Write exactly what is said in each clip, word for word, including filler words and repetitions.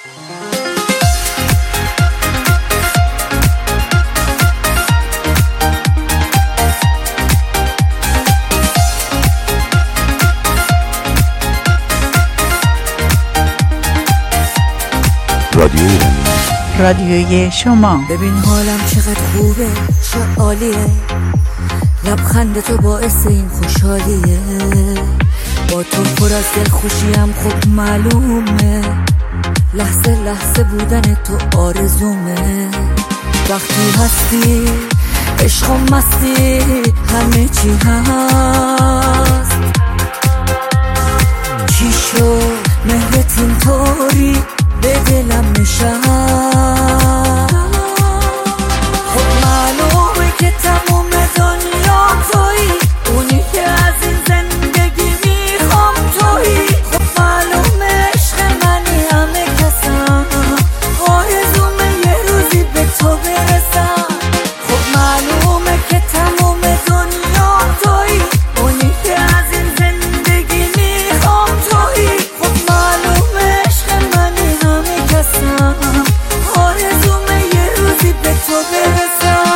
رادیو ایرانی، رادیوی شما. ببین حالم چقدر خوبه، چه عالیه، لبخند تو باعث این خوشحالیه، با تو پر از دل خوشیم خوب معلومه، لحظه لحظه بودن تو آرزومه، وقتی هستی عشق و مستی همه چی هست، چی شد مهرت این طوری به دلم نشست، خب معلومه که تموم دنیا تویی، اونی که از این زندگی میخوام تویی، خب معلومه عشق منی همه کسم، آرزومه یه روزی به تو برسم، خب معلومه که تموم دنیا تویی، اونی که از این زندگی میخوام تویی، خب معلومه عشق منی همه کسم، آرزومه یه روزی به تو برسم.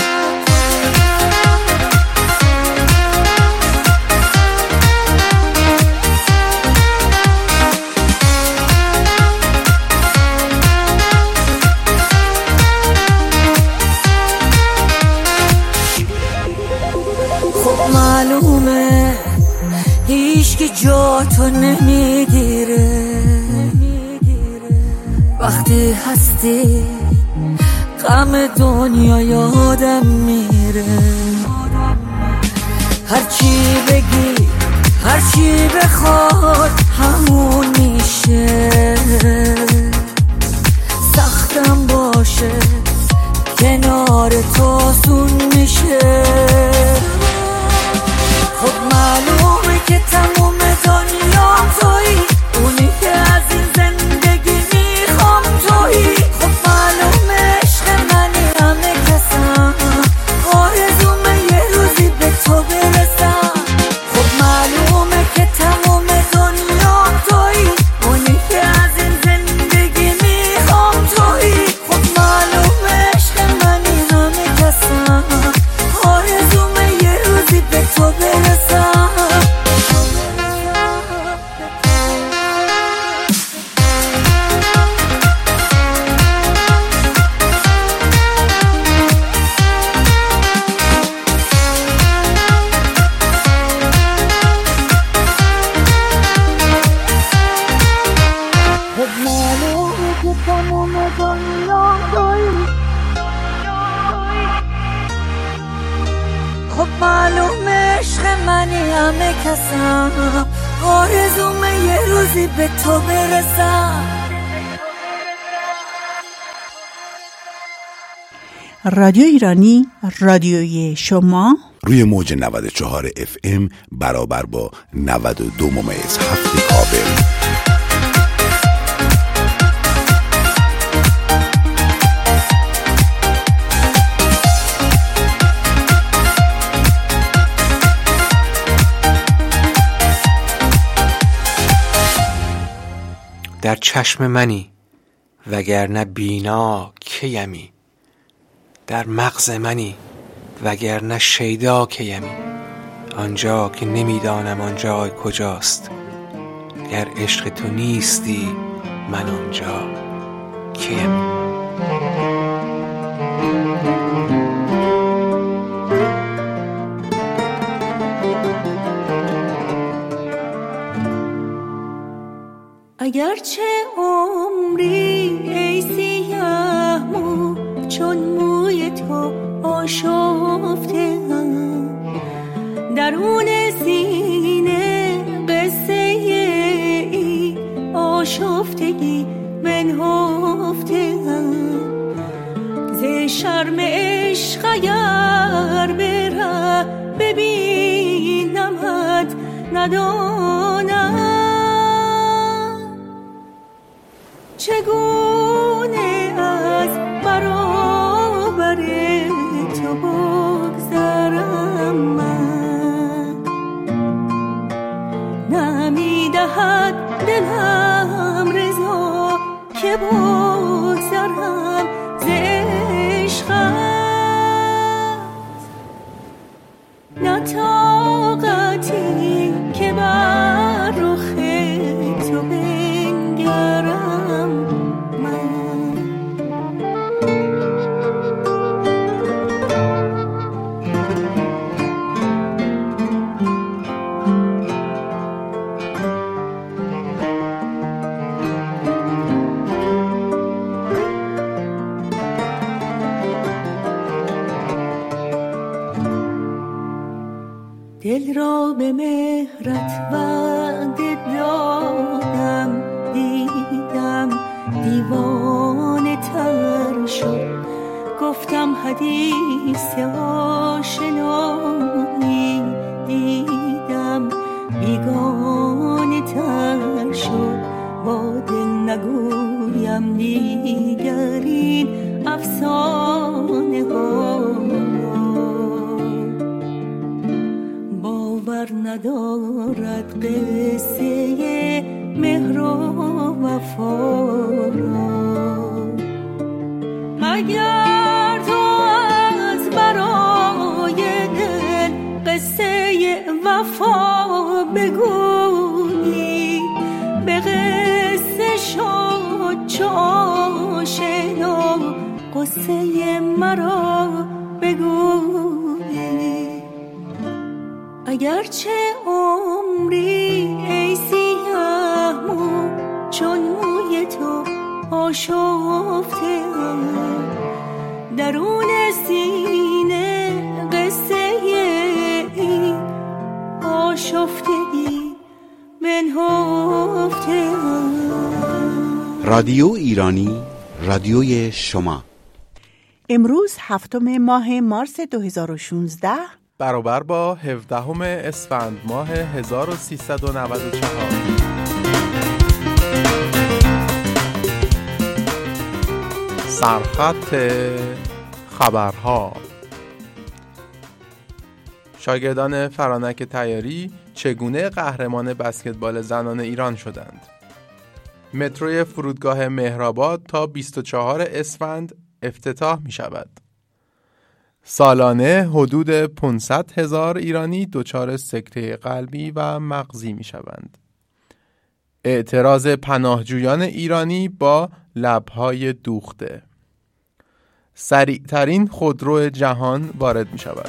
خب معلومه هیچکی جا تو نمیگیره، وقتی هستی غم دنیا یادم میره، هرچی بگی هرچی بخواد همون میشه، سختم باشه کنار تو آسون میشه، خب معلومه که تموم دنیا تویی، اونی که از این زندگی میخوام تویی، خب معلومه عشق منی همه کسم، آرزومه یه روزی به تو برسم، خب معلومه که تموم دنیا تویی، اونی که از این زندگی میخوام تویی، خب معلومه عشق منی همه کسم، آرزومه یه روزی به تو برسم. خب معلومه که تموم دنیا تویی، خب معلومه عشق منی همه کسم، آرزومه یه روزی به تو برسم. رادیو ایرانی، رادیوی شما، روی موج نود و چهار اف ام برابر با نود و دو ممیز هفت کابل. در چشم منی وگرنه بینا کیمی، در مغز منی وگرنه شیدا کیمی، آنجا که نمیدانم آنجا کجاست، گر عشق تو نیستی من آنجا کیمی. اگرچه عمری ای سیاه مو چون موی تو آشفته هم، درون سینه قصه ای آشفتگی بنهفته هم، ز شرم عشق اگر به ره ببینمت ندانم چگونه از برابر تو بگذرم، من نمیدهد دلم رضا که دل را به مهرت وعده دادم، دیدم دیوانه تر شد. گفتم حدیث آشنایی، دیدم بیگانه تر شد. با دل نگویم دیگر این افسانه ها، باور ندارد قصه مهر و وفا را. اگر تو از برای دل قصه وفا بگویی، به قصه شد چو آشنا قصه مرا بگویی. اگرچه عمری ای سیاه مو چون موی تو آشفته، درون سینه قصه این آشفتگی بنهفته. رادیو ایرانی، رادیوی شما. امروز هفتم ماه مارس دو هزار و شانزده برابر با هفدهم اسفند ماه هزار و سیصد و نود و چهار. سرخط خبرها. شاگردان فرانک طیاری چگونه قهرمان بسکتبال زنان ایران شدند؟ متروی فرودگاه مهرآباد تا بیست و چهارم اسفند افتتاح می شود. سالانه حدود پانصد هزار ایرانی دچار سکته قلبی و مغزی می شوند. اعتراض پناهجویان ایرانی با لبهای دوخته. سریعترین خودرو جهان وارد می شود.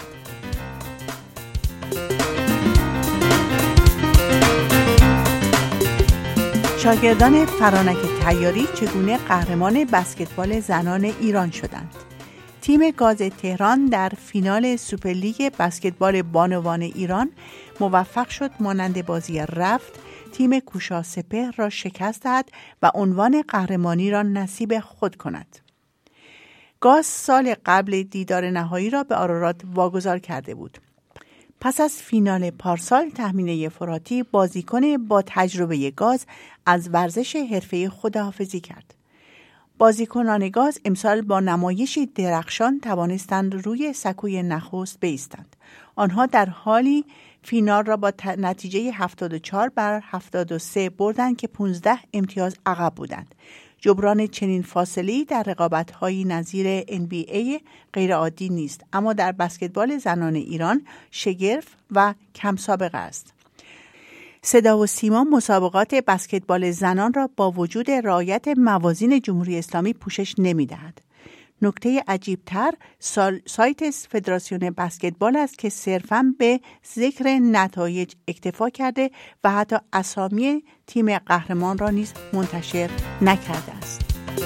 شاگردان فرانک طیاری چگونه قهرمان بسکتبال زنان ایران شدند؟ تیم گاز تهران در فینال سوپرلیگ بسکتبال بانوان ایران موفق شد مانند بازی رفت تیم کوشا سپهر را شکست دهد و عنوان قهرمانی را نصیب خود کند. گاز سال قبل دیدار نهایی را به آرارات واگذار کرده بود. پس از فینال پارسال تهمینه فراتی بازیکن با تجربه گاز از ورزش حرفه‌ای خداحافظی کرد. بازیکنان گاز امسال با نمایشی درخشان توانستند روی سکوی نخست بایستند. آنها در حالی فینال را با نتیجه هفتاد و چهار بر هفتاد و سه بردند که پانزده امتیاز عقب بودند. جبران چنین فاصله‌ای در رقابت‌های نظیر ان بی ای غیرعادی نیست، اما در بسکتبال زنان ایران شگرف و کم سابقه است. صدا و سیما مسابقات بسکتبال زنان را با وجود رعایت موازین جمهوری اسلامی پوشش نمی‌دهد. نکته عجیب‌تر سایت فدراسیون بسکتبال است که صرفاً به ذکر نتایج اکتفا کرده و حتی اسامی تیم قهرمان را نیز منتشر نکرده است.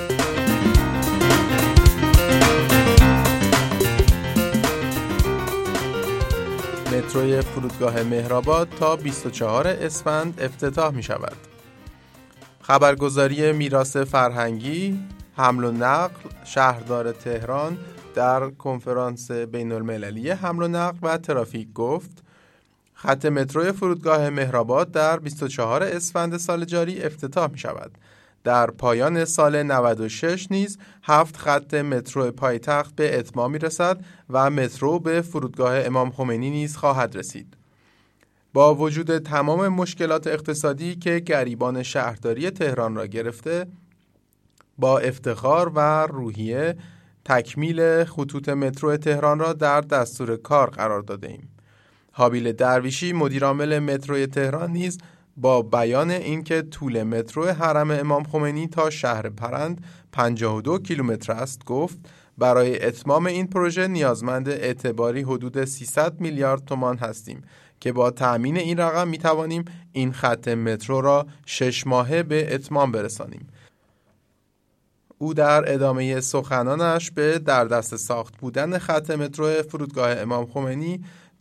متروی فرودگاه مهرآباد تا بیست و چهارم اسفند افتتاح می شود. خبرگزاری میراث فرهنگی، حمل و نقل شهردار تهران در کنفرانس بین المللی حمل و نقل و ترافیک گفت خط متروی فرودگاه مهرآباد در بیست و چهارم اسفند سال جاری افتتاح می شود. در پایان سال نود و شش نیز هفت خط مترو پایتخت به اتمام می رسد و مترو به فرودگاه امام خمینی نیز خواهد رسید. با وجود تمام مشکلات اقتصادی که گریبان شهرداری تهران را گرفته، با افتخار و روحیه تکمیل خطوط مترو تهران را در دستور کار قرار داده ایم. حابیل درویشی مدیرعامل مترو تهران نیز با بیان اینکه طول مترو حرم امام خمینی تا شهر پرند پنجاه و دو کیلومتر است گفت برای اتمام این پروژه نیازمند اعتباری حدود سیصد میلیارد تومان هستیم که با تأمین این رقم می توانیم این خط مترو را شش ماهه به اتمام برسانیم. او در ادامه سخنانش به در دست ساخت بودن خط مترو فرودگاه امام خمینی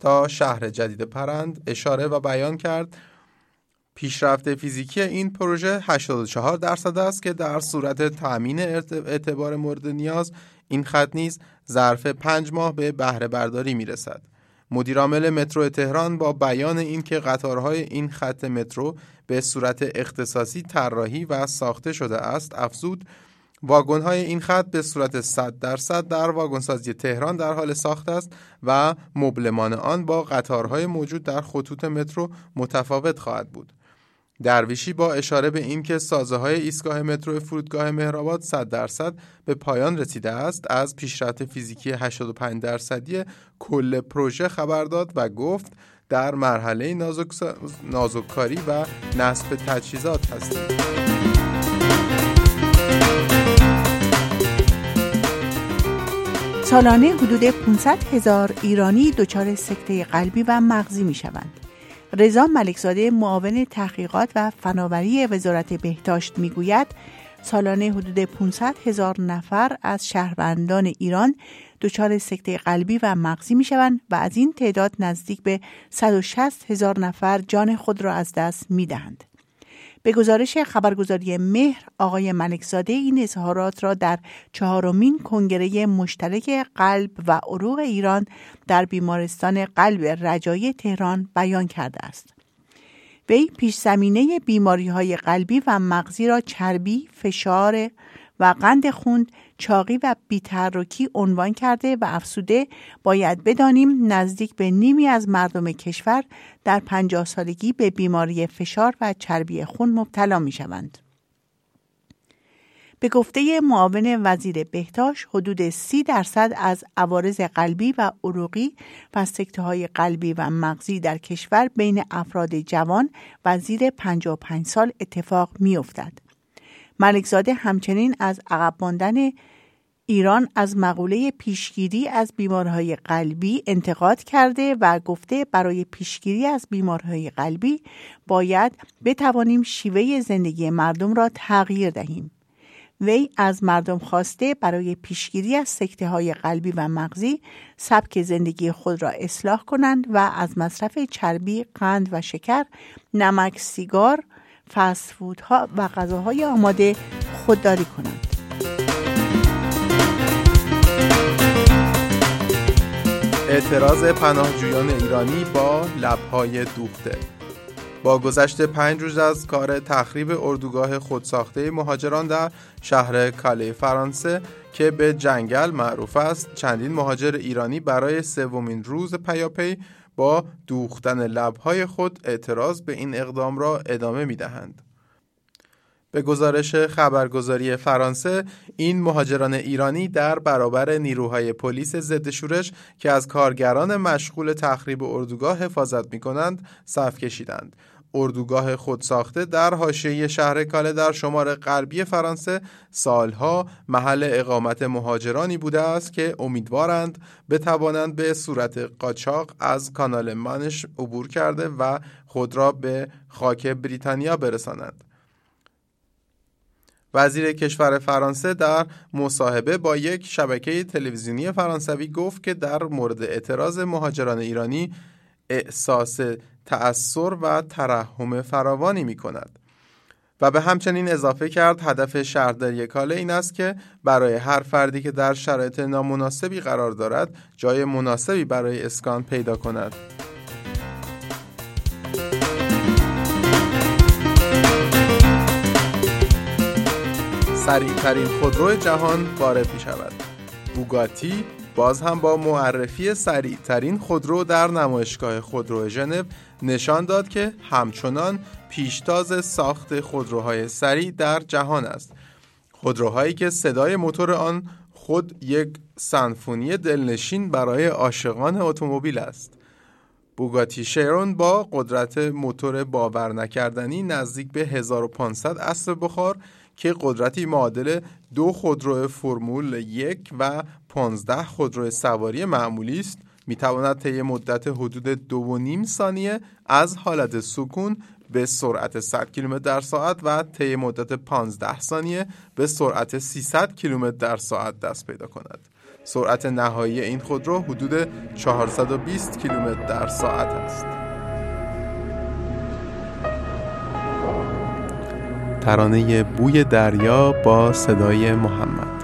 تا شهر جدید پرند اشاره و بیان کرد. پیشرفت فیزیکی این پروژه هشتاد و چهار درصد است که در صورت تأمین اعتبار مورد نیاز این خط نیز ظرف پنج ماه به بهره برداری میرسد. مدیرعامل مترو تهران با بیان این که قطارهای این خط مترو به صورت اختصاصی طراحی و ساخته شده است افزود واگن‌های این خط به صورت صد درصد در واگنسازی تهران در حال ساخت است و مبلمان آن با قطارهای موجود در خطوط مترو متفاوت خواهد بود. درویشی با اشاره به این که سازه‌های ایستگاه مترو فرودگاه مهرآباد صد درصد به پایان رسیده است از پیشرفت فیزیکی هشتاد و پنج درصدی کل پروژه خبر داد و گفت در مرحله نازک نازککاری و نصب تجهیزات هستیم. سالانه حدود پانصد هزار ایرانی دچار سکته قلبی و مغزی می شوند. رضا ملکزاده معاون تحقیقات و فناوری وزارت بهداشت می گوید سالانه حدود پانصد هزار نفر از شهروندان ایران دچار سکته قلبی و مغزی می شوند و از این تعداد نزدیک به صد و شصت هزار نفر جان خود را از دست می دهند. به گزارش خبرگزاری مهر، آقای ملکزاده این اظهارات را در چهارمین کنگره مشترک قلب و عروق ایران در بیمارستان قلب رجایی تهران بیان کرده است. وی پیش زمینه بیماری‌های قلبی و مغزی را چربی، فشار و قند خون، چاقی و بی‌تحرکی عنوان کرده و افزوده باید بدانیم نزدیک به نیمی از مردم کشور در پنجاه سالگی به بیماری فشار و چربی خون مبتلا می شوند. به گفته معاون وزیر بهداشت حدود سی درصد از عوارض قلبی و عروقی و سکته‌های قلبی و مغزی در کشور بین افراد جوان و زیر پنجاه و پنج سال اتفاق می افتد. ملکزاده همچنین از عقب ماندن ایران از مقوله پیشگیری از بیماری‌های قلبی انتقاد کرده و گفته برای پیشگیری از بیماری‌های قلبی باید بتوانیم شیوه زندگی مردم را تغییر دهیم. وی از مردم خواسته برای پیشگیری از سکته‌های قلبی و مغزی سبک زندگی خود را اصلاح کنند و از مصرف چربی، قند و شکر، نمک، سیگار، فست فودها و غذاهای آماده خودداری کنند. اعتراض پناهجویان ایرانی با لب‌های دوخته. با گذشت پنج روز از کار تخریب اردوگاه خودساخته مهاجران در شهر کاله فرانسه که به جنگل معروف است، چندین مهاجر ایرانی برای سومین روز پیاپی با دوختن لب‌های خود اعتراض به این اقدام را ادامه می‌دهند. به گزارش خبرگزاری فرانسه، این مهاجران ایرانی در برابر نیروهای پلیس ضد شورش که از کارگران مشغول تخریب اردوگاه حفاظت می‌کنند، صف کشیدند. اردوگاه خودساخته در حاشیه شهر کاله در شمال غربی فرانسه سالها محل اقامت مهاجرانی بوده است که امیدوارند بتوانند به صورت قاچاق از کانال منش عبور کرده و خود را به خاک بریتانیا برسانند. وزیر کشور فرانسه در مصاحبه با یک شبکه تلویزیونی فرانسوی گفت که در مورد اعتراض مهاجران ایرانی احساس تأثر و ترحم فراوانی می کند و به همچنین اضافه کرد هدف شهرداری کاله این است که برای هر فردی که در شرایط نامناسبی قرار دارد جای مناسبی برای اسکان پیدا کند. سریع‌ترین خودرو جهان وارد می شود. بوگاتی باز هم با معرفی سریع‌ترین خودرو در نمایشگاه خودرو ژنو نشان داد که همچنان پیشتاز ساخت خودروهای سریع در جهان است. خودروهایی که صدای موتور آن خود یک سمفونی دلنشین برای عاشقان اتومبیل است. بوگاتی شیرون با قدرت موتور باور نکردنی نزدیک به هزار و پانصد اسب بخار که قدرتی معادل دو خودرو فرمول یک و پانزده خودرو سواری معمولی است، میتواند طی مدت حدود دو و نیم ثانیه از حالت سکون به سرعت صد کیلومتر در ساعت و طی مدت پانزده ثانیه به سرعت سیصد کیلومتر در ساعت دست پیدا کند. سرعت نهایی این خودرو حدود چهارصد و بیست کیلومتر در ساعت است. ترانه بوی دریا با صدای محمد.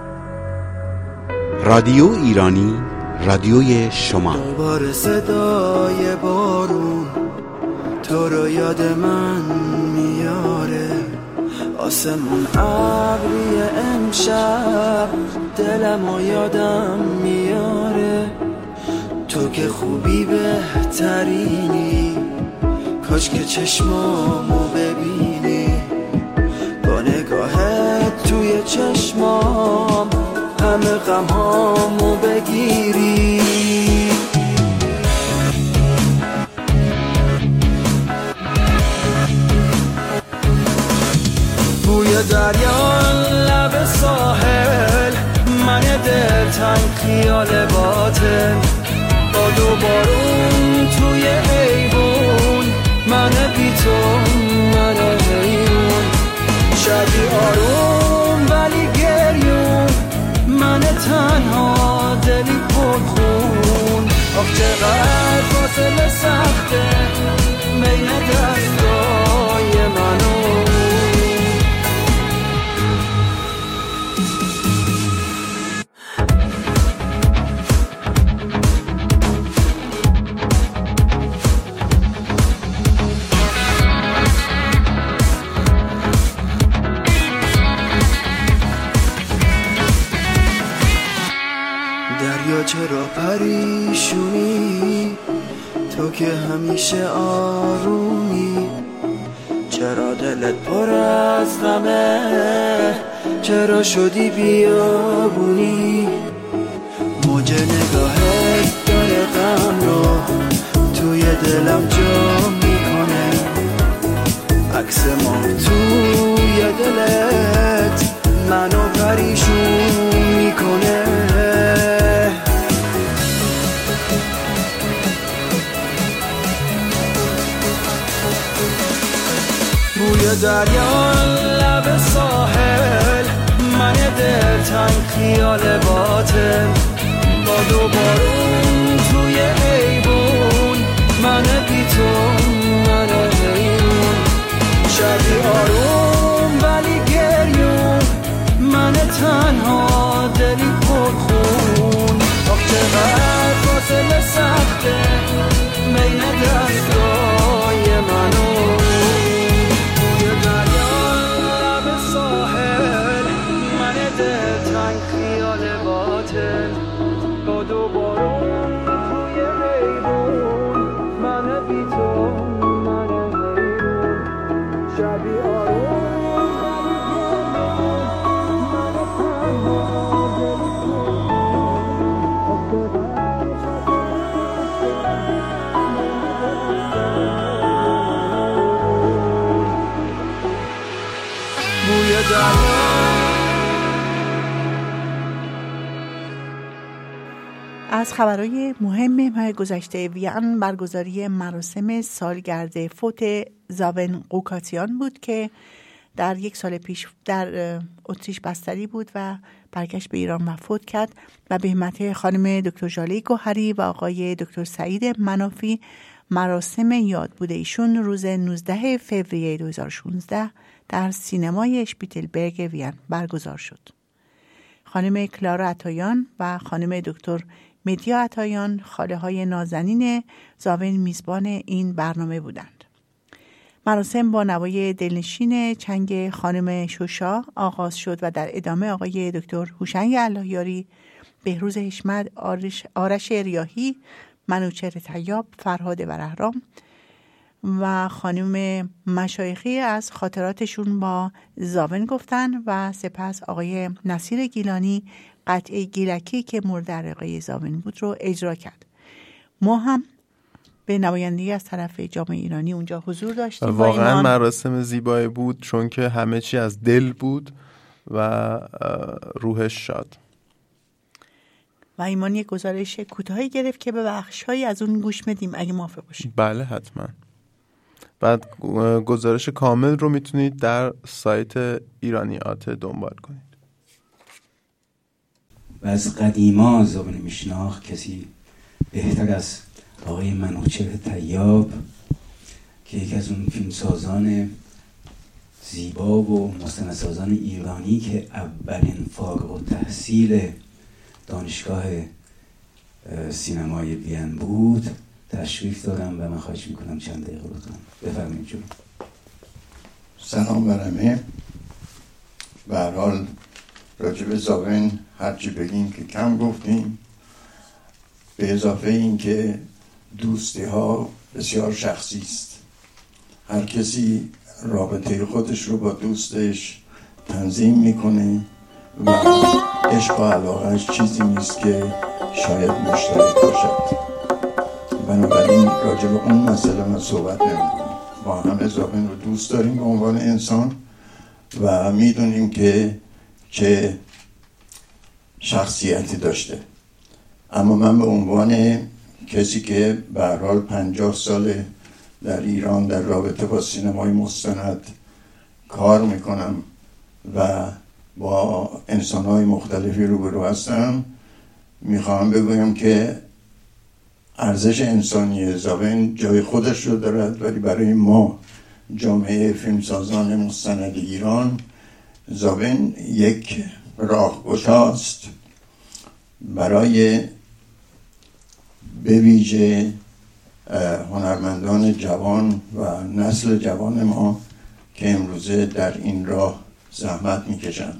رادیو ایرانی، رادیوی شما. دوباره صدای بارون تو رو یاد من میاره، آسمون ابری امشب دلمو یادم میاره. تو که خوبی بهترینی، کاش که چشمامو ببینی، با نگاهت توی چشمام همه غمهامو بگیری. بوی دریا لب ساحل، من دلتنگ خیال باطل، باد و بارون توی ایوون، من بی تو من حیرون، شبی آروم ولی گریون، من تنها دلی پرخون. آخ چقدر فاصله سخته بین دستای من و دریا. چرا پریشونی تو که همیشه آرومی، چرا دلت پر از غمه، چرا شدی بیابونی، موج نگاهت داره غم رو توی دلم جا میکنه، عکس ما توی دلت منو پریشون میکنه. بوی دریا لب ساحل، من دلتنگ خیال باطل، باد و بارون توی ایوون، من بی تو من حیرون، شبی آروم ولی گریون، من تنها دلی پرخون. آخ چقدر فاصله سخته بین دستای من و باد و بارون توی ایوون، من بی تو من حیرون، شبی آروم ولی گریون، من تنها دلی پرخون. بوی دریا. از خبرهای مهم ماه گذشته وین برگزاری مراسم سالگرد فوت زاون قوکاتیان بود که در یک سال پیش در اتریش بستری بود و برگشت به ایران و فوت کرد و به همت خانم دکتر ژاله گوهری و آقای دکتر سعید منافی مراسم یاد بوده ایشون روز نوزدهم فوریه دو هزار و شانزده در سینمای اشپیتلبرگ وین برگزار شد. خانم کلارا عطایان و خانم دکتر مدیا عطایان خاله های نازنین زاون میزبان این برنامه بودند. مراسم با نوای دلنشین چنگ خانم شوشا آغاز شد و در ادامه آقای دکتر هوشنگ اللهیاری، بهروز حشمت، آرش, آرش ریاحی، منوچهر طیاب، فرهاد ورهرام و خانم مشایخی از خاطراتشون با زاون گفتن و سپس آقای نصیر گیلانی قطعه گیلکی که مورد علاقه زاون بود رو اجرا کرد. ما هم به نمایندگی از طرف جامعه ایرانی اونجا حضور داشتیم. واقعا مراسم زیبایی بود چون که همه چی از دل بود و روحش شاد. و ایمان یک گزارش کوتاهی گرفت که به بخش‌هایی از اون گوش بدیم اگه موافق باشید. بله حتما. بعد گزارش کامل رو میتونید در سایت ایرانیات دنبال کنید. و از قدیما زبان میشناخت کسی بهتر از آقای منوچهر طیاب که یکی از اون فیلمسازان زیبا و مستندسازان ایرانی که اولین فارغ التحصیل دانشگاه سینمای وین بود تشریف دارم و من خواهش میکنم چند دقیقه لطفاً بفرمایید. جون سلام بر همه. به هر حال راجع به زاون هرچی بگیم که کم گفتیم، به اضافه این که دوستی ها بسیار شخصی است. هر کسی رابطه خودش رو با دوستش تنظیم میکنه و عشق و علاقهش چیزی نیست که شاید مشترک باشد. بنابراین راجع به اون مسئله من صحبت نمی‌کنم. ما همه زاون رو دوست داریم به عنوان انسان و میدونیم که چه شخصیتی داشته. اما من به عنوان کسی که به هر حال پنجاه سال در ایران در رابطه با سینمای مستند کار میکنم و با انسان‌های مختلفی روبرو هستم، میخوام بگویم که ارزش انسانی زاون جای خودش رو دارد، ولی برای ما جامعه فیلمسازان مستند ایران زاون یک راهگشاست برای به ویژه هنرمندان جوان و نسل جوان ما که امروزه در این راه زحمت میکشند.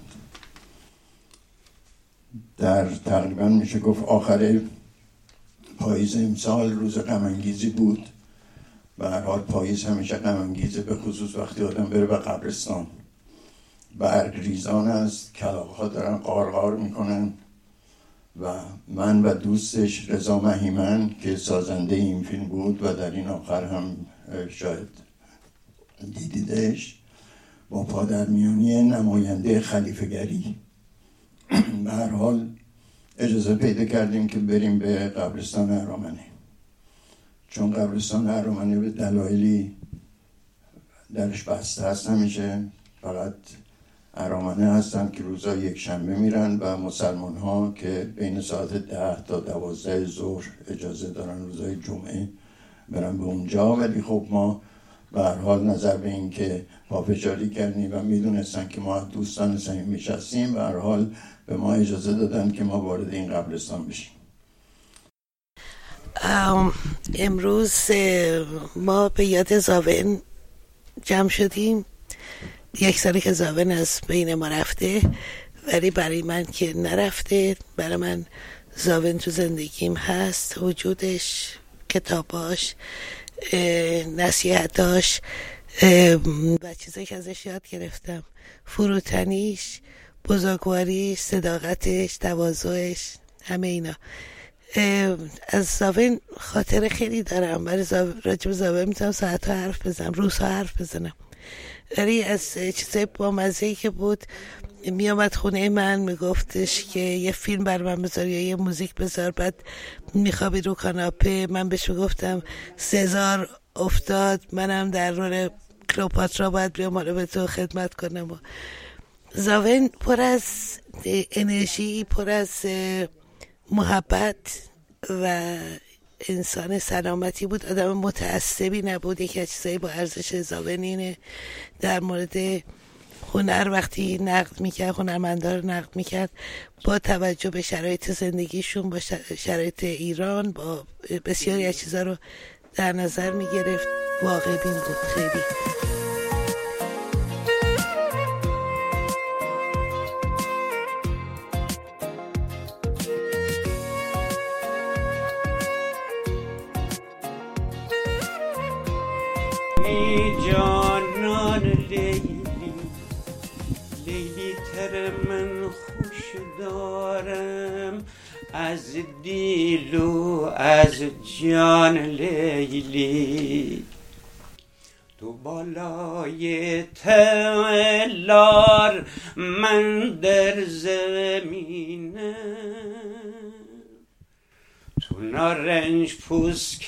در تقریبا میشه گفت آخر پاییز امسال روز غم انگیزی بود. به هر حال پاییز همیشه غم انگیزه، به خصوص وقتی آدم بره به قبرستان. برگ ریزان است، کلاغ‌ها دارن قارقار میکنن و من و دوستش رضا مهیمن که سازنده این فیلم بود و در این آخر هم شاید دیدیدش، با پادرمیانی نماینده خلیفه‌گری به هر حال اجازه پیدا کردیم که بریم به قبرستان اهرامنه، چون قبرستان اهرامنه به دلایلی درش بسته هست، نمیشه. فقط اهرامنه هستن که روزا یک شنبه میرن و مسلمان ها که بین ساعت ده تا دوازده ظهر اجازه دارن روزای جمعه برن به اونجا. ولی خب ما به هر حال نظر به این که پافشاری کردیم و میدونستن که ما دوستان صمیمیش هستیم، به هر حال به ما اجازه دادن که ما وارد این قبرستان بشیم. امروز ما به یاد زاون جمع شدیم. یک سالی که زاون از بین ما رفته، ولی برای من که نرفته، برای من زاون تو زندگیم هست. وجودش، کتاباش، نصیحتاش و چیزایی که ازش یاد گرفتم، فروتنیش، بزرگواریش، صداقتش، تواضعش، همه اینا. از زاون خاطر خیلی دارم، برای راجب زاون میتونم ساعتها حرف بزنم، روزها حرف بزنم. ولی از چیزای با مزه‌ای که بود، می آمد خونه من میگفتش که یه فیلم بر من بذار یا یه موزیک بذار، بعد میخوابی رو کاناپه. من بهش میگفتم سزار افتاد، منم در رول کلوپاترا باید بیام حالا به تو خدمت کنم. و زاون پر از انرژی، پر از محبت و انسان سلامتی بود. آدم متعصبی نبود. یکی از چیزایی با ارزش زاون اینه در مورد هنر وقتی نقد میکرد، هنرمندا رو نقد میکرد با توجه به شرایط زندگیشون، با شرایط ایران، با بسیاری از چیزا رو در نظر میگرفت. واقع بین بود خیلی. ای جانان لیلی، لیلی تر من خوش دارم از دیل و از جان لیلی. تو بالای تلار من در زمینم، تو نارنج پوست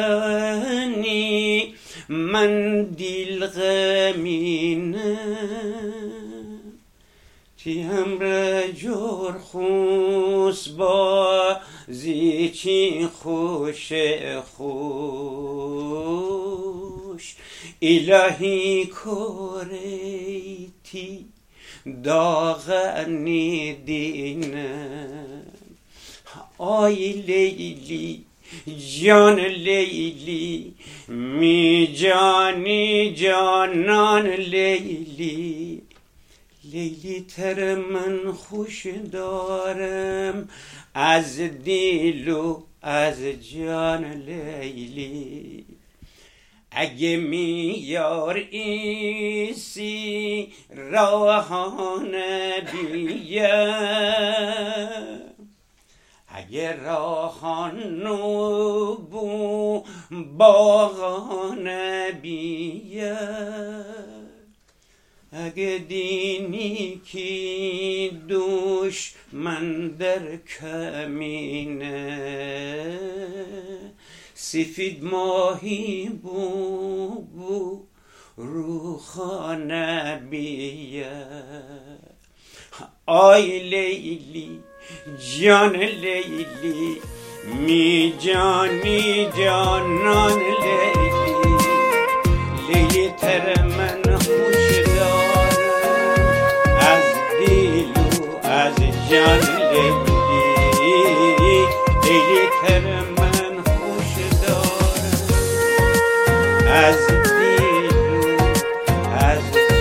کنی من دیل غمینم. تیم رجور خوش با زیچی خوش خوش الهی کوریتی داغنی دینم آی لیلی جان لیلی می جانی جانان لیلی لیلی تر من خوش دارم از دل و از جان لیلی اگه میار ایسی راهان بیه اگه راهانو بو باغان بیه اگه دینی کی دوش من در کمینه سفید ماهی بو بو روخانه بیه آی لیلی جان لیلی می جانی جانان لیلی لیلی تر من خوش دارم از دل و از جان لیلی لیلی تر من خوش دارم از دل و از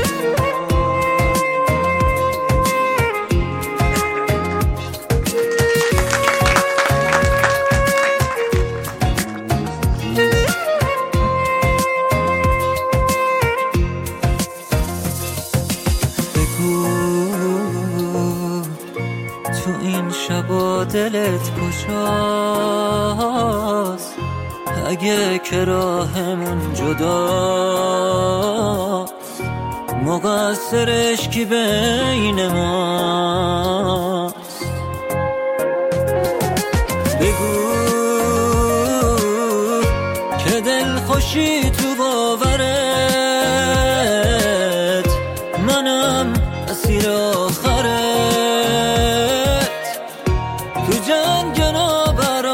دلت کجاست اگه که راهمون جداست مقصرش کی بین ماست بگو که دل خوشی تو باورت منم اسیر آخرت تو جنگنا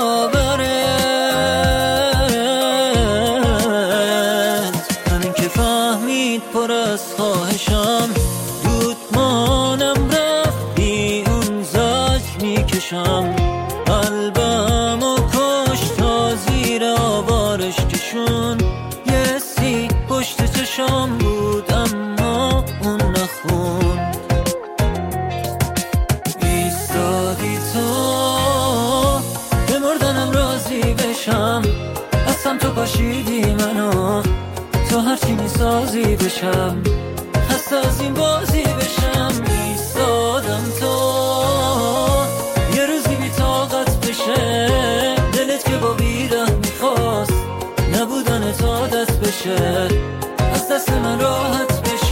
برابرت همین که فهمید پر از خواهشم دود مانم رفت بی اون زج میکشم قلبم و کش تا زیر آوارش کشون یه سی پشت چشم بود اما اون نخون ایستادی تو به مردنم راضی بشم اصلا تو پاشیدی منو تو هرچی میسازی بشم خسته از این بازی بشم ایستادم تو یه روزی بی طاقت بشه دلت که با بیره میخواست نبودن تو عادت بشه از دست من راحت بشه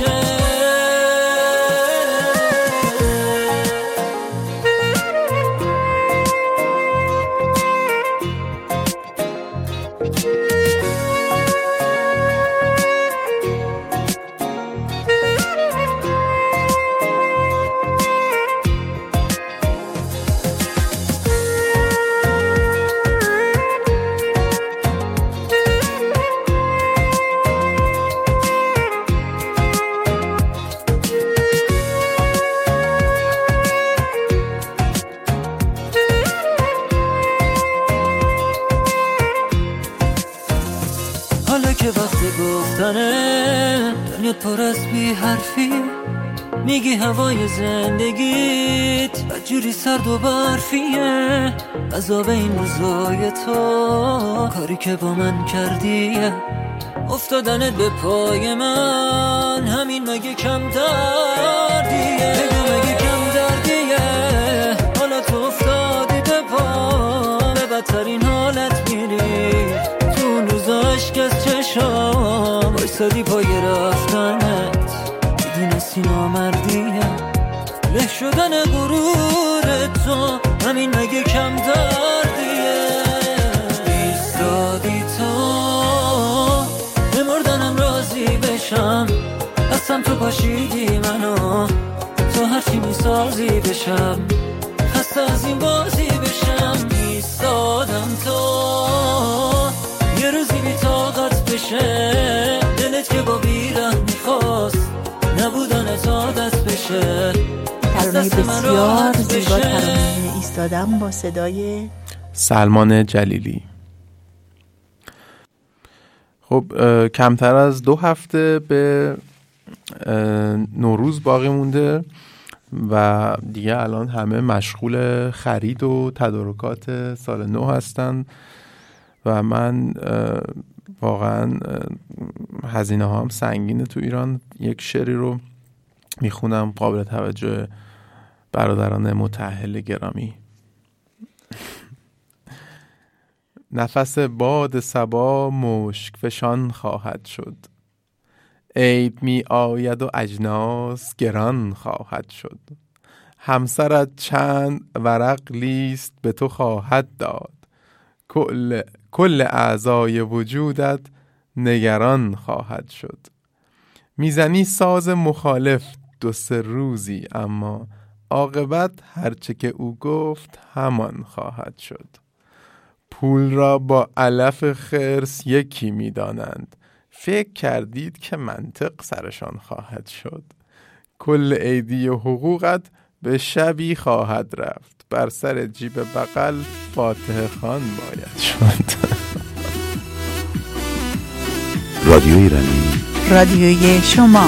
حالا که وقت گفتنه دنیا پر از بی حرفی میگی هوای زندگیت بدجوری سرد و برفیه عذاب این روزای تو کاری که با من کردیه افتادنت به پای من همین مگه کم دردیه بگو مگه کم دردیه حالا تو افتادی به پا به بدترین حالت میری تو اون روزا عشق از چشام بایستادی پای رفتنت میدونستی نامردیه له شدن غرور تو همین مگه کم دردیه ایستادی تو به مردنم راضی بشم اصلا تو پاشیدی منو تو هرچی میسازی سازی بشم، خسته از این بازی بشم. ایستادم تا یه روزی بی طاقت بشه، دلت که با بیره میخواست نبودن عادت بشه. ترانه بسیار زیبا، ترانه ایستادم با صدای سلمان جلیلی. خب کمتر از دو هفته به نوروز باقی مونده و دیگه الان همه مشغول خرید و تدارکات سال نو هستن و من واقعا هزینه ها هم سنگینه تو ایران. یک شعری رو میخونم قابل توجه برادران متأهل گرامی. نفس باد صبا مشک فشان خواهد شد، عید می آید و اجناس گران خواهد شد. همسرت چند ورق لیست به تو خواهد داد، کل کل اعضای وجودت نگران خواهد شد. میزنی ساز مخالف دو سه روزی، اما عاقبت هرچه که او گفت همان خواهد شد. پول را با علف خرس یکی میدانند، فکر کردید که منطق سرشان خواهد شد. کل ایدی و حقوقت به شبی خواهد رفت، بر سر جیب بغل فاتحه خوان باید شد. رادیو ایرانی، رادیوی شما.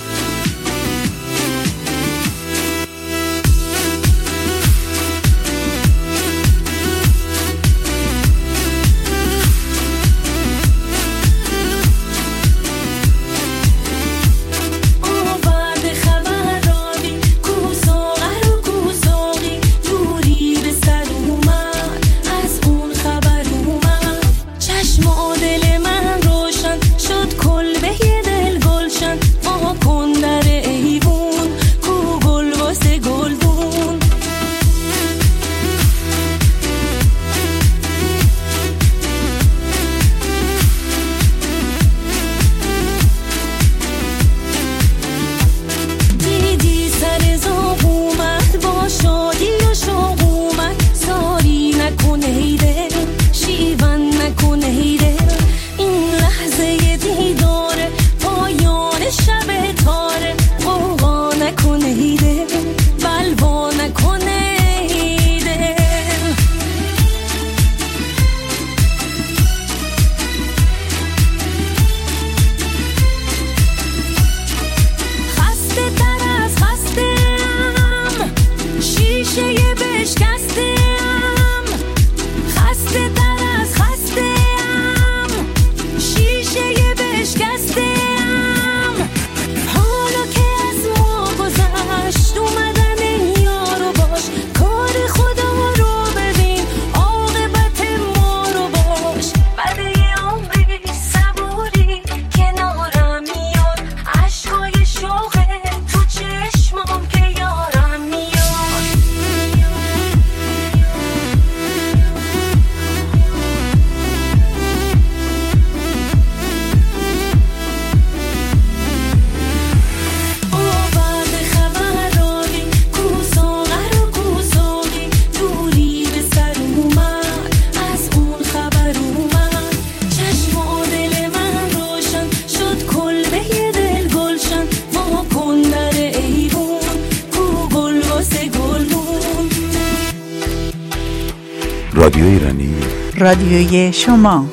رادیو ایرانی، رادیوی شما.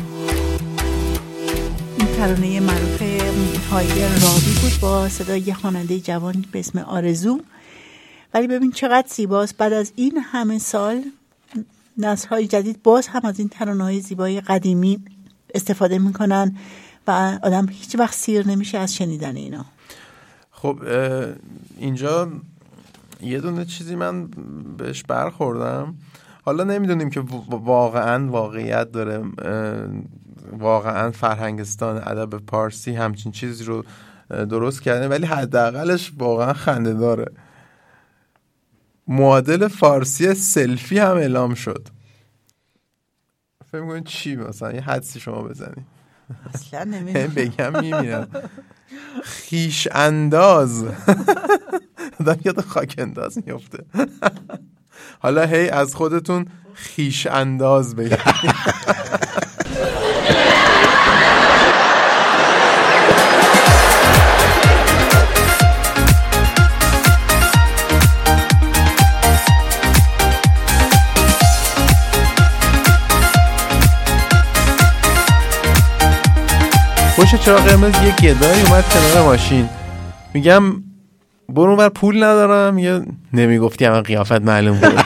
این ترانه معروف های راوی بود با صدای خواننده جوان به اسم آرزو. ولی ببین چقدر زیباست، بعد از این همه سال نسل‌های جدید باز هم از این ترانه‌های زیبای قدیمی استفاده میکنن و آدم هیچ وقت سیر نمیشه از شنیدن اینا. خب اینجا یه دونه چیزی من بهش برخوردم، حالا نمیدونیم که واقعا واقعیت داره، واقعا فرهنگستان ادب پارسی همچین چیزی رو درست کرده، ولی حداقلش واقعا خنده داره. معادل فارسی سلفی هم اعلام شد. فکر می‌کنید چی؟ مثلا یه حدسی شما بزنید. اصلا نمیدونم. بگم میمیرم. خیش انداز. آدم یاد خاک انداز میفته. حالا هی از خودتون خیش انداز بگید. پشت چراغ قرمز یه گدایی اومد کنار ماشین. میگم برو بر پول ندارم، یا نمیگفتی اما قیافت معلوم بود.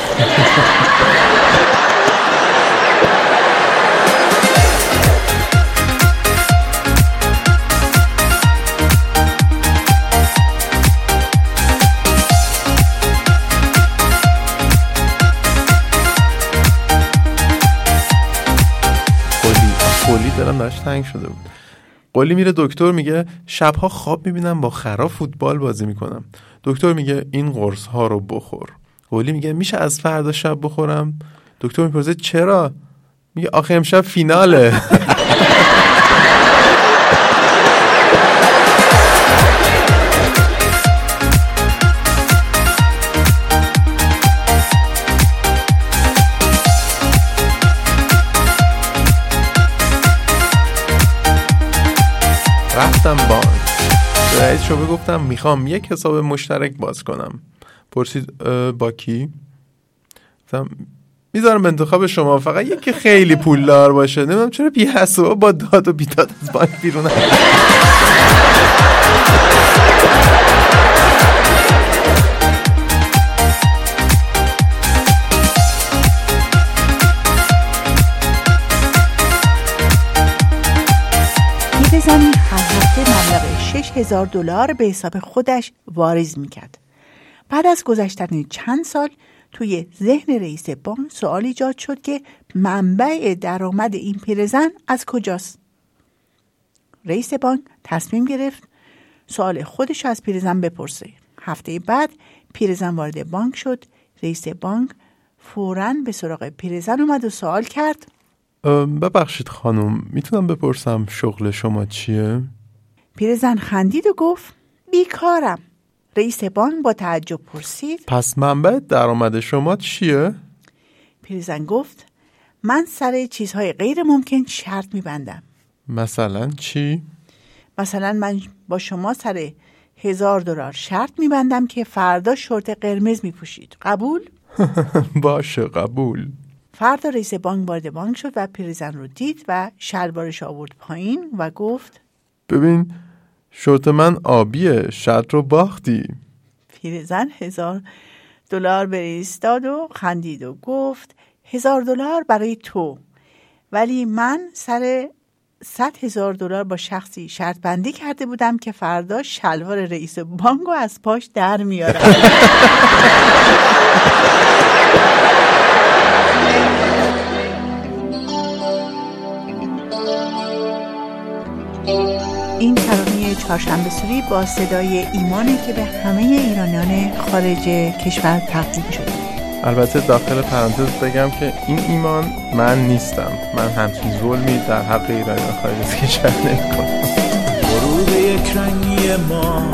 قولی دارم داشت تنگ شده بود. قولی میره دکتر، میگه شبها خواب میبینم با خرا فوتبال بازی میکنم. دکتر میگه این قرص ها رو بخور. قولی میگه میشه از فردا شب بخورم؟ دکتر میپرسه چرا؟ میگه آخه امشب فیناله. رفتم بانک، به رئیس شعبه گفتم میخوام یک حساب مشترک باز کنم. پرسید با کی؟ گفتم میذارم به انتخاب شما، فقط یکی خیلی پولدار باشه. نمیدونم چرا بی حسابا با داد و بیداد از بانک بیرون. زمین هر هفته مبلغ شش هزار دلار به حساب خودش واریز میکرد. بعد از گذشتن چند سال توی ذهن رئیس بانک سوال ایجاد شد که منبع درآمد این پیرزن از کجاست. رئیس بانک تصمیم گرفت سوال خودش از پیرزن بپرسه. هفته بعد پیرزن وارد بانک شد. رئیس بانک فوراً به سراغ پیرزن اومد و سوال کرد ببخشید خانم، میتونم بپرسم شغل شما چیه؟ پیرزن خندید و گفت بیکارم. رئیس بانک با تعجب پرسید پس منبع درآمد شما چیه؟ پیرزن گفت من سر چیزهای غیر ممکن شرط میبندم. مثلا چی؟ مثلا من با شما سر هزار دلار شرط میبندم که فردا شورت قرمز میپوشید. قبول؟ باشه قبول. فردا رئیس بانک وارد بانک شد و پیرزن رو دید و شلوارش آورد پایین و گفت ببین شورت من آبیه، شرط رو باختی. پیرزن هزار دلار به رئیس داد و خندید و گفت هزار دلار برای تو، ولی من سر صد هزار دلار با شخصی شرط بندی کرده بودم که فردا شلوار رئیس بانک رو از پاش در میارم. این ترانه چهارشنبه سوری با صدای ایمانه که به همه ایرانیان خارج کشور تقدیم شده. البته داخل پرانتز بگم که این ایمان من نیستم. من همچین ظلمی در حق ایرانیان خارج از کشور نمی‌کنم. غروب یک رنگی ما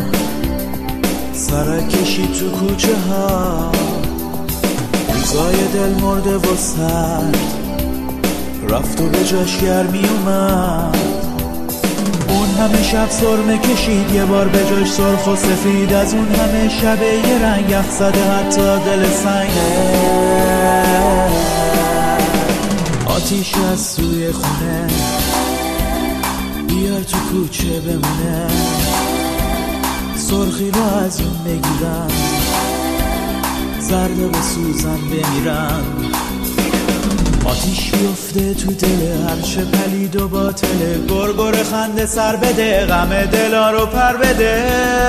سرکشی تو کوچه ها، روزای دل مرده و سرد رفت و به جاش گرمی اومد. اون همه شب سرمه کشید یه بار به جاش سرخ و سفید، از اون همه شب یه رنگ یخ زده حتی دل سنگه. آتیش از سوی خونه بیار تو کوچه بمونه، سرخی رو از اون بگیرن زرد به سوزن بمیرن. آتیش بیفته تو دل هرچه پلید و باطله، گرگر خنده سر بده غم دلا رو پر بده.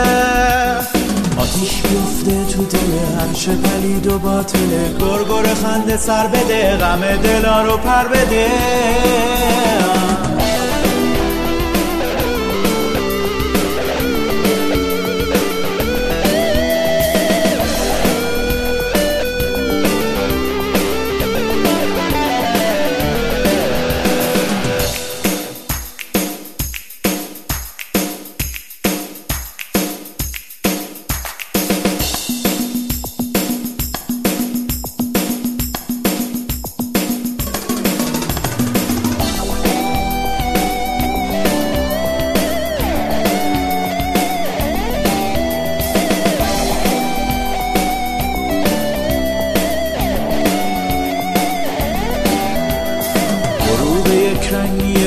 آتیش بیفته تو دل هرچه پلید و باطله، گرگر خنده سر بده غم دلا رو پر بده.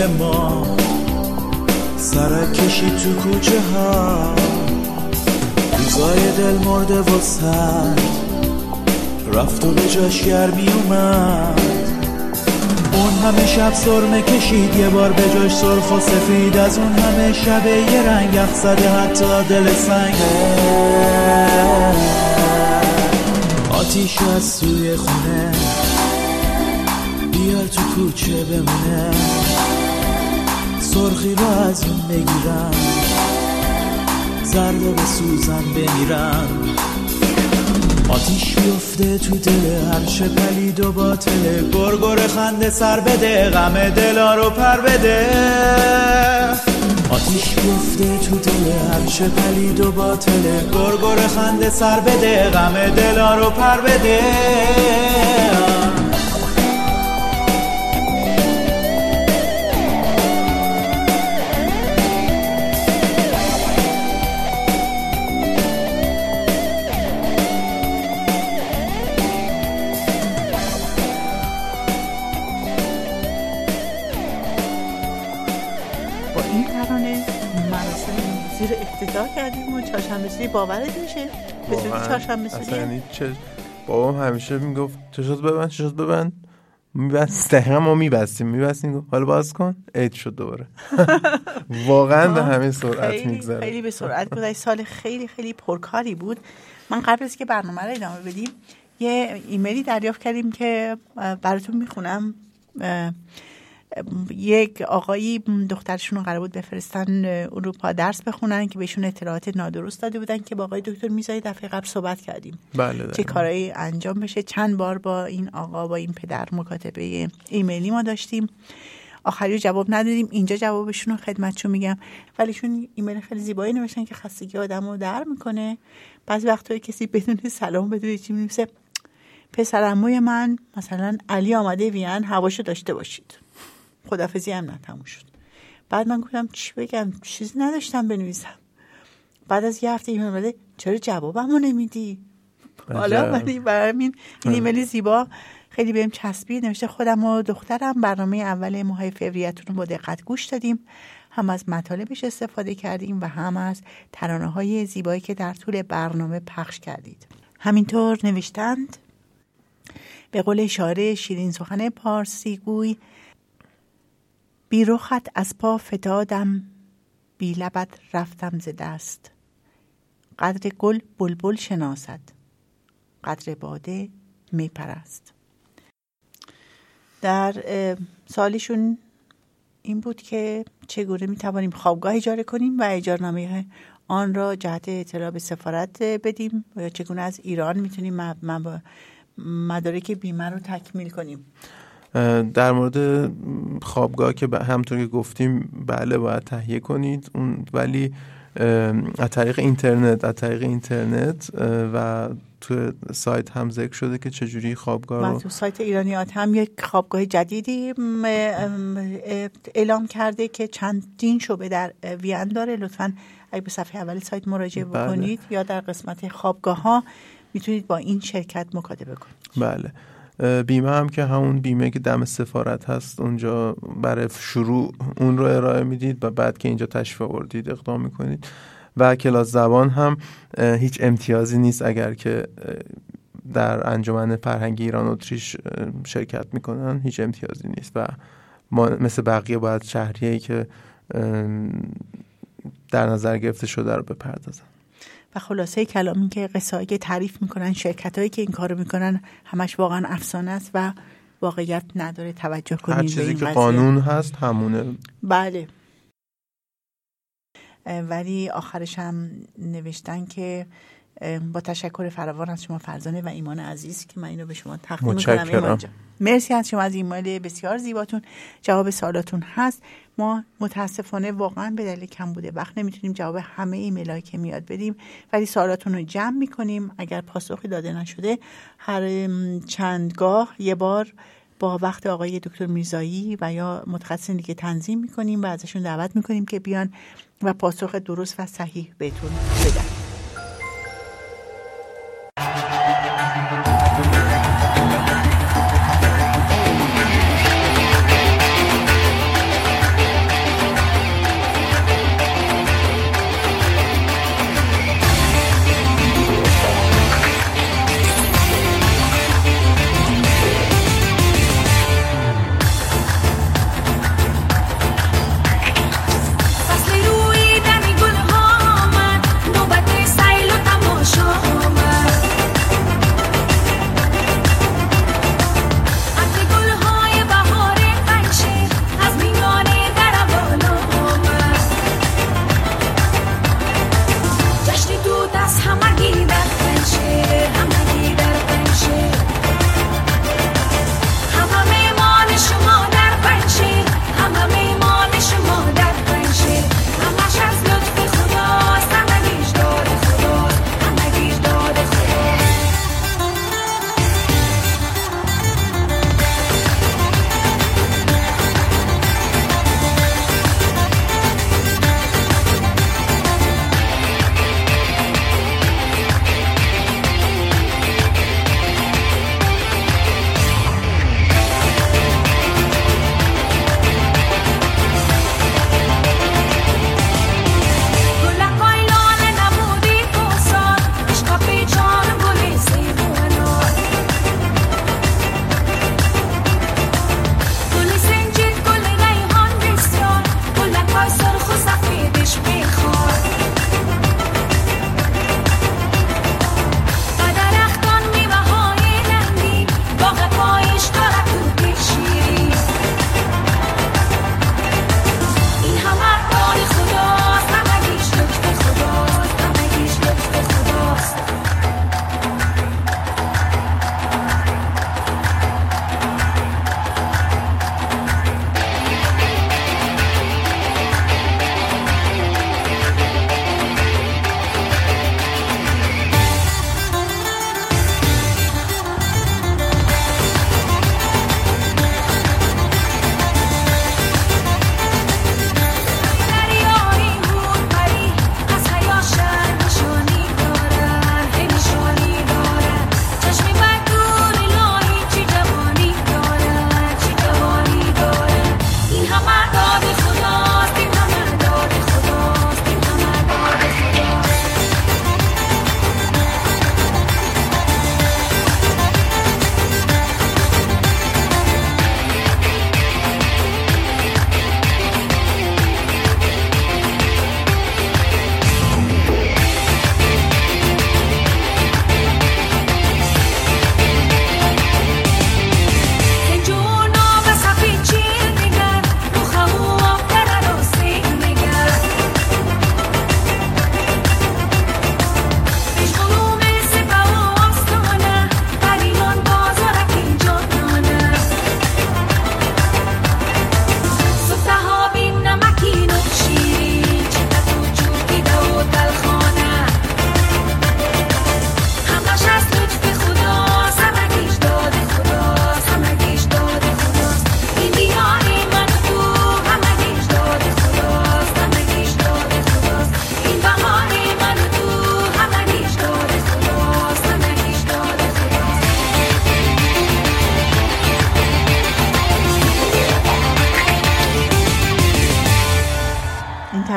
روی ما سرک کشید تو کوچه ها، روزای دل مرده و سرد رفت و به جاش گرمی اومد. اون همه شب سرمه کشید یه بار به جاش سرخ و سفید، از اون همه شب یه رنگ یخ زده حتی دل سنگه. آتیش از توی خونه بیار تو کوچه بمونه، سرخی رو از اون بگیرم زرد و به سوزن بمیرم. آتیش بیفته تو دل هر چه پلید و باطله، گرگر خنده سر بده غم دلا رو پر بده. آتیش بیفته تو دل هر چه پلید و باطله، گرگر خنده سر بده غم دلا رو پر بده. کردیم و چهارشنبه‌سوری باورت میشه؟ بتونی چهارشنبه‌سوری؟ اصلا یعنی چه بابام همیشه میگفت چشات ببند چشات ببند میبست، دقیقا ما میبستیم میبستیم گفت حالا باز کن، عید شد دوباره. واقعا به همین سرعت میگذره، خیلی به سرعت گذشت. سال خیلی خیلی پرکاری بود. من قبل از که برنامه رو ادامه بدیم یه ایمیلی دریافت کردیم که براتون میخونم. یک آقایی دخترشون رو قرار بود بفرستن اروپا درس بخونن که بهشون اطلاعات نادرست داده بودن که با آقای دکتر میرزایی دفعه قبل صحبت کردیم. بله چه کارایی انجام بشه. چند بار با این آقا با این پدر مکاتبه ایمیلی ما داشتیم، آخری جواب ندادیم. اینجا جوابشون رو خدمتشون میگم، ولی چون ایمیل خیلی زیبایی نوشتن که خستگی آدمو در میکنه. بعضی وقتا کسی بدون سلام بدون چی می‌نویسه پسرعموی من مثلا علی آمده وین، هواشو داشته باشید. خدافظی هم نتموم شد. بعد من گفتم چی بگم، چیزی نداشتم بنویسم. بعد از یه هفته ایمیل بده چرا جوابمو نمیدی؟ حالا ولی برای این این ایمیل زیبا خیلی بهم چسبید. نوشته خودم و دخترم برنامه اول ماه فوریه‌تون رو با دقت گوش دادیم، هم از مطالبش استفاده کردیم و هم از ترانه‌های زیبایی که در طول برنامه پخش کردید. همینطور نوشتند به قول شاعر شیرین سخن پارسی گوی، بی رخت از پا فتادم، بی لبت رفتم ز دست. قدر گل بلبل شناسد، قدر باده می پرست. در سالشون این بود که چگونه می توانیم خوابگاه اجاره کنیم و اجارنامه آن را جهت اطلاع به سفارت بدیم و چگونه از ایران میتونیم مدارک بیمه رو تکمیل کنیم. در مورد خوابگاه که همونطور که گفتیم بله باید تهیه کنید اون، ولی از طریق اینترنت از طریق اینترنت و تو سایت هم ذکر شده که چجوری خوابگاه رو تو سایت ایرانیات هم یک خوابگاه جدیدی اعلام کرده که چندین شعبه در وین داره. لطفاً اگه به صفحه اول سایت مراجعه بکنید بله. یا در قسمت خوابگاه ها میتونید با این شرکت مکاتبه کنید. بله. بیمه هم که همون بیمه که دم سفارت هست اونجا برای شروع اون رو ارائه میدید و بعد که اینجا تشریف آوردید اقدام میکنید. و کلاس زبان هم هیچ امتیازی نیست اگر که در انجمن فرهنگی ایران اتریش شرکت میکنن، هیچ امتیازی نیست و ما مثل بقیه باید شهریه‌ای که در نظر گرفته شده رو بپردازن. و خلاصه کلام این که قصه‌ای که تعریف میکنن، شرکتایی که این کارو میکنن همش واقعا افسانه است و واقعیت نداره. توجه کنید هر چیزی که قانون هست همونه. بله. ولی آخرش هم نوشتن که با تشکر فراوان از شما فرزانه و ایمان عزیز که من اینو به شما تقدیم میکنم. ایمان جان مرسی از شما، از ایمیل بسیار زیباتون. جواب سوالاتون هست. ما متاسفانه واقعا به دلیل کم بوده وقت نمیتونیم جواب همه ایمیلایی که میاد بدیم، ولی سوالاتون رو جمع میکنیم. اگر پاسخی داده نشده هر چندگاه یه بار با وقت آقای دکتر میرزایی و یا متخصصین دیگه تنظیم میکنیم و ازشون دعوت میکنیم که بیان و پاسخ درست و صحیح بهتون بدن.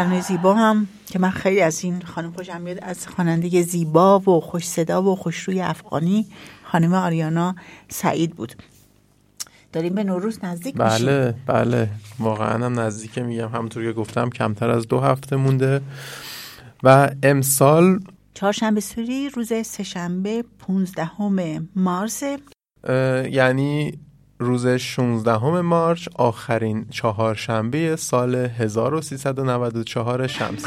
ترانه زیبا هم که من خیلی از این خانم خوشم میاد، از خواننده زیبا و خوش صدا و خوشروی افغانی خانم آریانا سعید بود. داریم به نوروز نزدیک میشیم. بله بله واقعا هم نزدیکه، میگم همونطور که گفتم کمتر از دو هفته مونده و امسال چهارشنبه سوری روز سه‌شنبه پانزدهم مارس، یعنی روز شانزدهم مارس آخرین چهارشنبه سال هزار و سیصد و نود و چهار شمسی.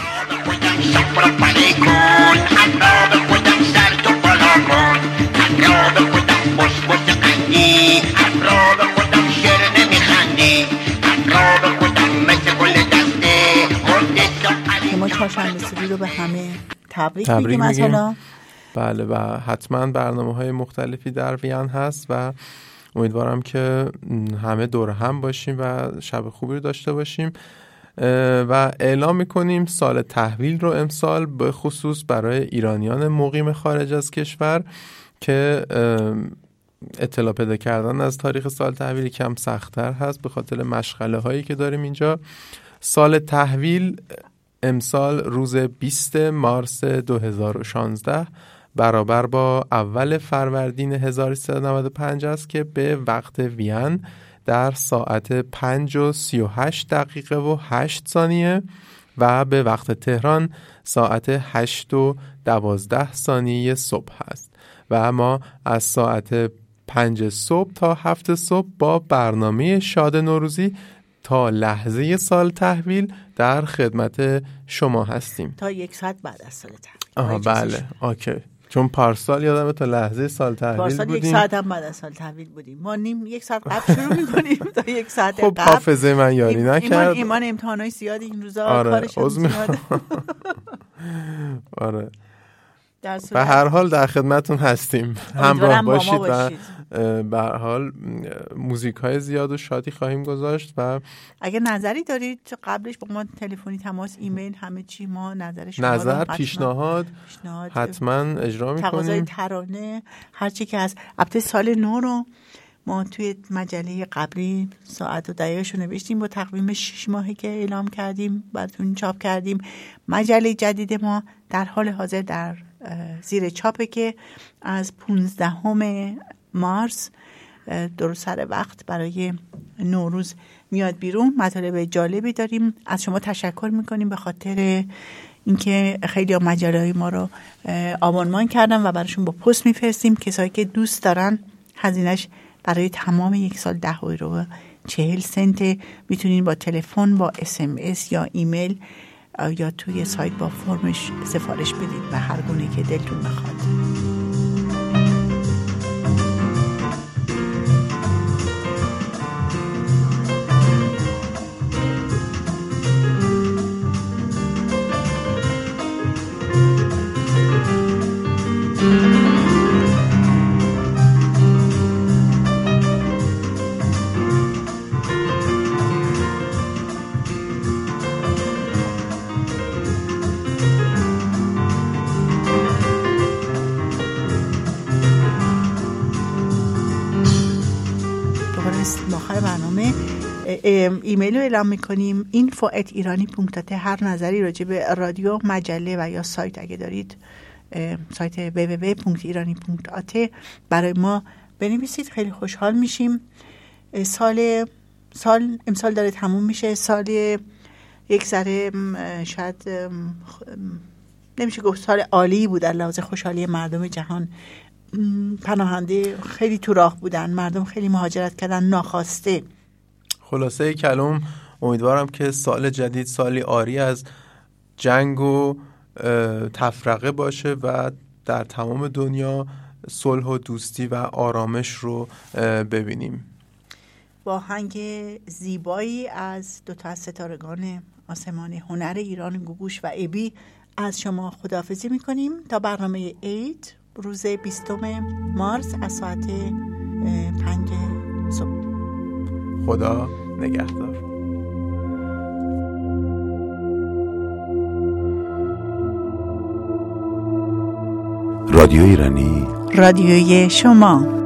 ما چهارشنبه سوری رو به همه تبریک, تبریک میگیم مثلا. بله و حتما برنامه‌های مختلفی در وین هست و امیدوارم که همه دور هم باشیم و شب خوبی رو داشته باشیم و اعلام میکنیم سال تحویل رو امسال به خصوص برای ایرانیان مقیم خارج از کشور که اطلاع پیدا کردن از تاریخ سال تحویل کم سخت‌تر هست به خاطر مشغله هایی که داریم اینجا. سال تحویل امسال روز بیست مارس دو هزار و شانزده برابر با اول فروردین هزار و سیصد و نود و پنج است که به وقت وین در ساعت پنج و سی و هشت دقیقه و هشت ثانیه و به وقت تهران ساعت هشت و دوازده ثانیه صبح است و ما از ساعت پنج صبح تا هفت صبح با برنامه شاد نوروزی تا لحظه سال تحویل در خدمت شما هستیم. تا یک ساعت بعد از سال تحویل. آها بله اوکی، چون پارسال یادمه تا لحظه سال تحویل پارسال بودیم. یک ساعت هم بعد از سال تحویل بودیم. ما نیم یک ساعت قبل شروع می‌کنیم تا یک ساعت خب قبل. خب حافظه من یاری نکرد. ایمان ایمان امتحانای زیادی این روزا آره، کارش هم زیاده. آره. در به هر حال در خدمتون هستیم، همراه باشید و به هر حال موزیک های زیاد و شادی خواهیم گذاشت و اگر نظری دارید قبلش با ما تلفنی تماس، ایمیل، همه چی ما نظر شما نظر پیشنهاد حتما اجرا میکنیم. تقاضای ترانه هر چی که هست. البته سال نو رو ما توی مجله قبلی ساعت و دقیقش رو نوشتیم با تقویم شش ماهی که اعلام کردیم براتون چاپ کردیم. مجله جدید ما در حال حاضر در زیر چاپه که از پانزدهم مارس درست سر وقت برای نوروز میاد بیرون. مطالب جالبی داریم. از شما تشکر میکنیم به خاطر اینکه خیلی ها مجله های ما رو آبونمان کردن و براشون با پست میفرستیم. کسایی که دوست دارن هزینه‌اش برای تمام یک سال ده یورو و چهل سنت. میتونین با تلفن، با اس ام اس یا ایمیل یا توی سایت با فرمش سفارش بدید به هر گونه که دلتون بخواد. ایمیل رو اعلام میکنیم info at irani punkt a t. هر نظری راجع به رادیو، مجله و یا سایت اگه دارید سایت double-u double-u double-u punkt irani punkt a t برای ما بنویسید. خیلی خوشحال میشیم. سال سال امسال داره تموم میشه. سال یک ذره شاید نمیشه گفت سال عالی بود در لحاظ خوشحالی مردم جهان. پناهنده خیلی تو راه بودن، مردم خیلی مهاجرت کردن ناخواسته. خلاصه کلام امیدوارم که سال جدید سالی عاری از جنگ و تفرقه باشه و در تمام دنیا صلح و دوستی و آرامش رو ببینیم. با آهنگ زیبایی از دو تا از ستارگان آسمان هنر ایران، گوگوش و ابی، از شما خداحافظی میکنیم تا برنامه عید روز بیستم مارس از ساعت پنج صبح. خدا نگهدار. رادیو ایرانی، رادیوی شما.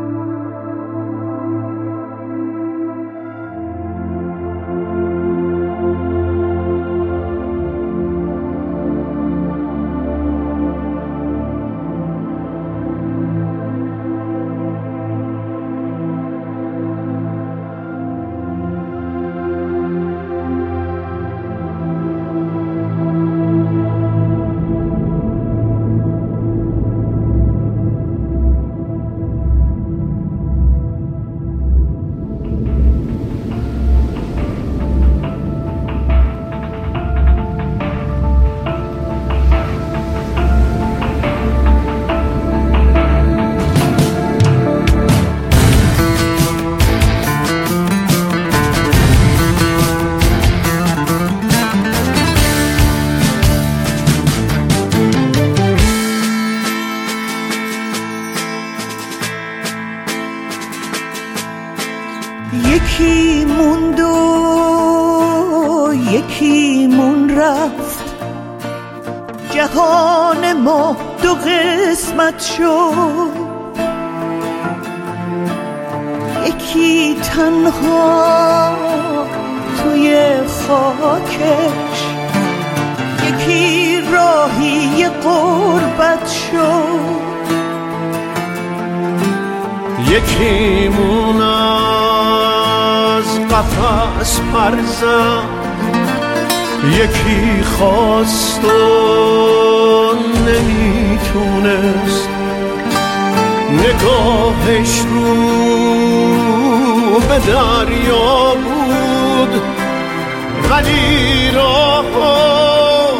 یکی موند و یکی مون رفت، جهان ما دو قسمت شد. یکی تنها توی خاکش، یکی راهی غربت شد. یکی مون از قفس پر زد، یکی خواست و نمیتونست، نگاهش رو به دریا بود ولی راهو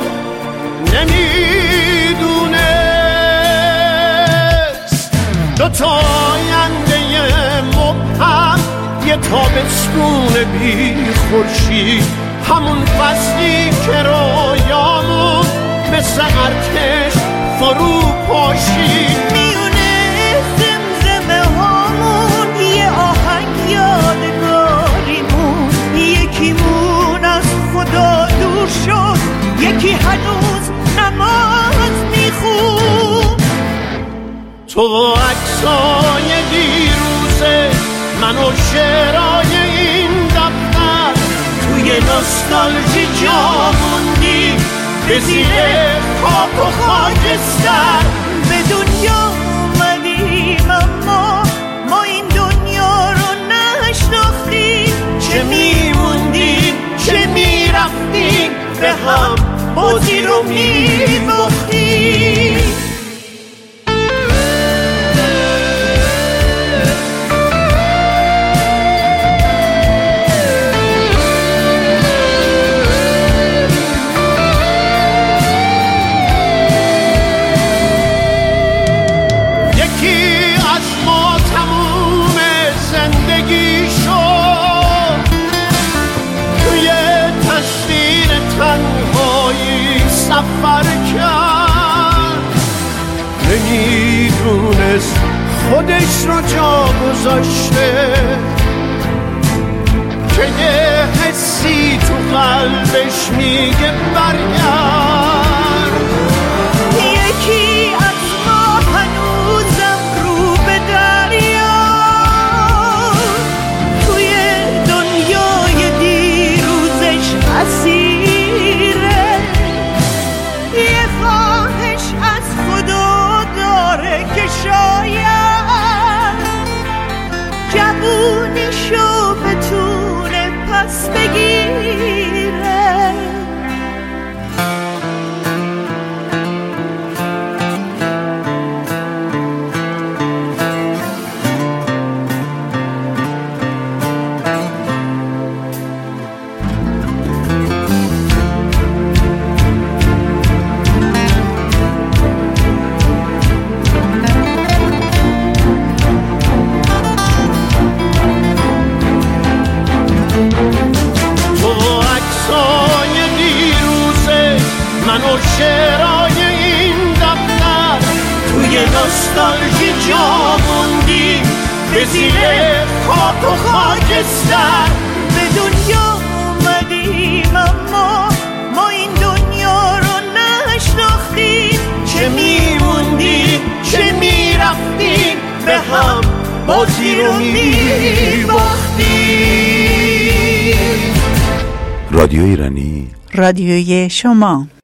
نمیدونست. دوتا آینده مبهم، یه تابستون بی خورشید، همون فصلی که رویامون مثل ارتش فرو پاشید. میونه زمزمه هامون یه آهنگ یادگاریمون، یکیمون از خدا دور شد، یکی هنوز نماز میخون. تو عکسای دیروزه من و شعرهای این دفتر، توی نوستالژی جا موندی به زیر خاک و خاکستر. به دنیا اومدیم اما ما این دنیا رو نشناختیم، چه میموندیم چه میرفتیم به هم بازی رو میباختیم. سفر کرد، نمیدونست خودش رو جا گذاشته، که یه حسی تو قلبش میگه برگرد. یکی از ما هنوزم رو به دریا، توی دنیای دیروزش اسیره. یه خواهش از خدا داره که شاید جوونیشو بتونه پس بگیره. من و شعرهای این دفتر، توی نوستالژی جا موندی به زیر خاک و خاکستر. به دنیا اومدیم اما ما این دنیا رو نشناختیم، چه میموندیم چه میرفتیم به هم بازی رو میباختیم. رادیو ایرانی، رادیوی شما.